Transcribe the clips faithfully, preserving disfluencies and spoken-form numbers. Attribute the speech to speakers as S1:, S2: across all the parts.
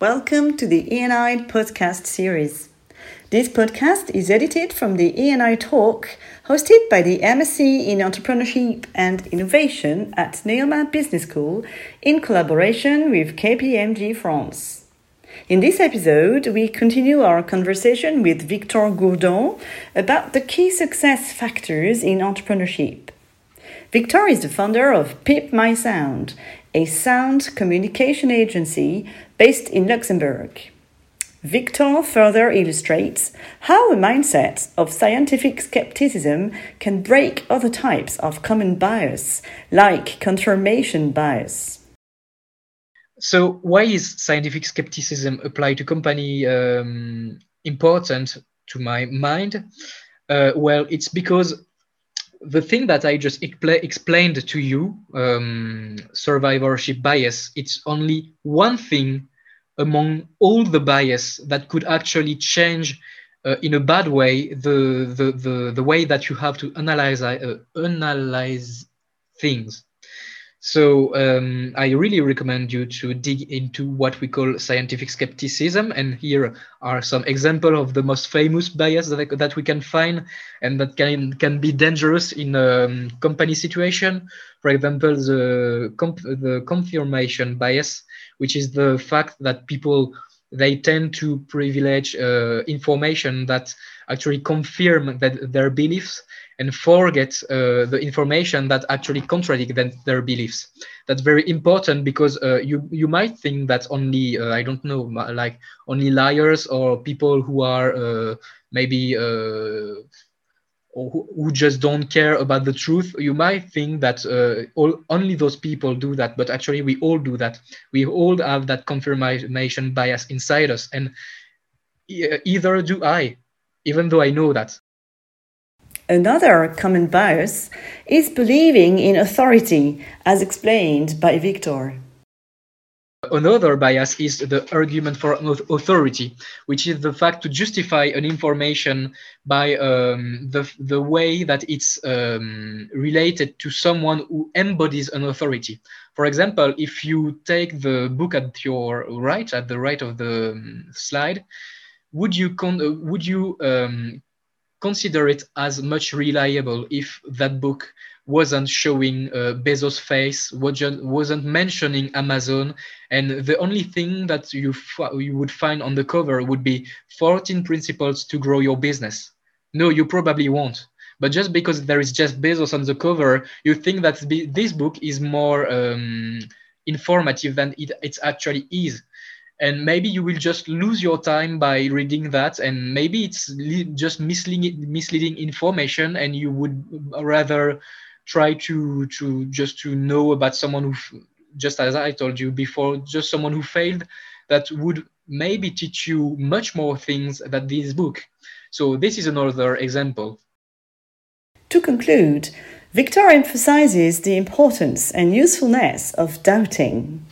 S1: Welcome to the E and I podcast series. This podcast is edited from the E and I Talk, hosted by the M S c in Entrepreneurship and Innovation at Neoma Business School in collaboration with K P M G France. In this episode, we continue our conversation with Victor Gourdon about the key success factors in entrepreneurship. Victor is the founder of Pip My Sound, a sound communication agency based in Luxembourg. Victor further illustrates how a mindset of scientific skepticism can break other types of common bias, like confirmation bias.
S2: So why is scientific skepticism applied to company um, important to my mind? Uh, well, it's because the thing that I just expl- explained to you, um, survivorship bias, it's only one thing among all the bias that could actually change uh, in a bad way the, the, the, the way that you have to analyze, uh, analyze things. So um, I really recommend you to dig into what we call scientific skepticism. And here are some examples of the most famous bias that, that we can find and that can, can be dangerous in a um, company situation. For example, the, comp- the confirmation bias, which is the fact that people, they tend to privilege uh, information that actually confirm that their beliefs and forget uh, the information that actually contradict them, their beliefs. That's very important because uh, you you might think that only uh, I don't know, like only liars or people who are uh, maybe uh, or who, who just don't care about the truth. You might think that uh, all, only those people do that, but actually we all do that. We all have that confirmation bias inside us, and e- either do I, even though I know that.
S1: Another common bias is believing in authority, as explained by Victor.
S2: Another bias is the argument for authority, which is the fact to justify an information by um, the, the way that it's um, related to someone who embodies an authority. For example, if you take the book at your right, at the right of the um, slide, would you, con- would you um, consider it as much reliable if that book wasn't showing uh, Bezos' face, wasn't, wasn't mentioning Amazon, and the only thing that you, f- you would find on the cover would be fourteen principles to grow your business? No, you probably won't. But just because there is Jeff Bezos on the cover, you think that this book is more um, informative than it, it actually is. And maybe you will just lose your time by reading that, and maybe it's just misleading misleading information, and you would rather try to to just to know about someone who, just as I told you before, just someone who failed, that would maybe teach you much more things than this book. So this is another example.
S1: To conclude, Victor emphasizes the importance and usefulness of doubting.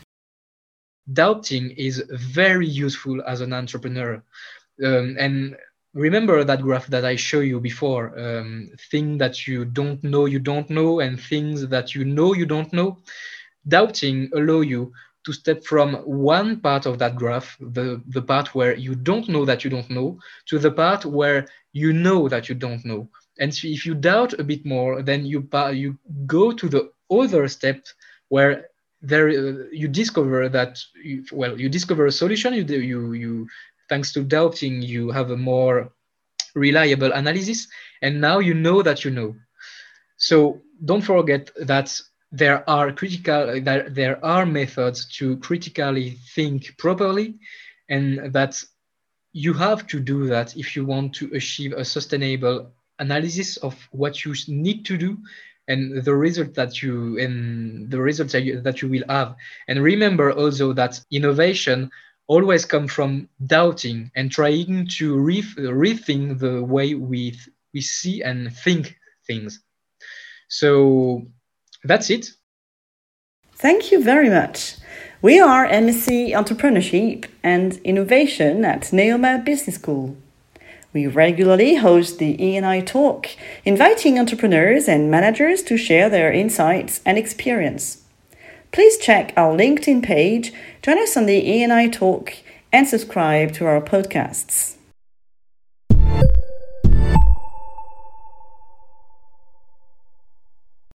S2: Doubting is very useful as an entrepreneur. Um, and remember that graph that I showed you before, um, things that you don't know you don't know and things that you know you don't know. Doubting allow you to step from one part of that graph, the, the part where you don't know that you don't know, to the part where you know that you don't know. And so if you doubt a bit more, then you, you go to the other step where there uh, you discover that you, well you discover a solution. You you you thanks to doubting, you have a more reliable analysis, and now you know that you know. So don't forget that there are critical there, there are methods to critically think properly, and that you have to do that if you want to achieve a sustainable analysis of what you need to do and the result that you and the results that you, that you will have. And remember also that innovation always comes from doubting and trying to re- rethink the way we th- we see and think things. So that's it.
S1: Thank you very much. We are M S c Entrepreneurship and Innovation at Neoma Business School. We regularly host the E and I Talk, inviting entrepreneurs and managers to share their insights and experience. Please check our LinkedIn page, join us on the E and I Talk, and subscribe to our podcasts.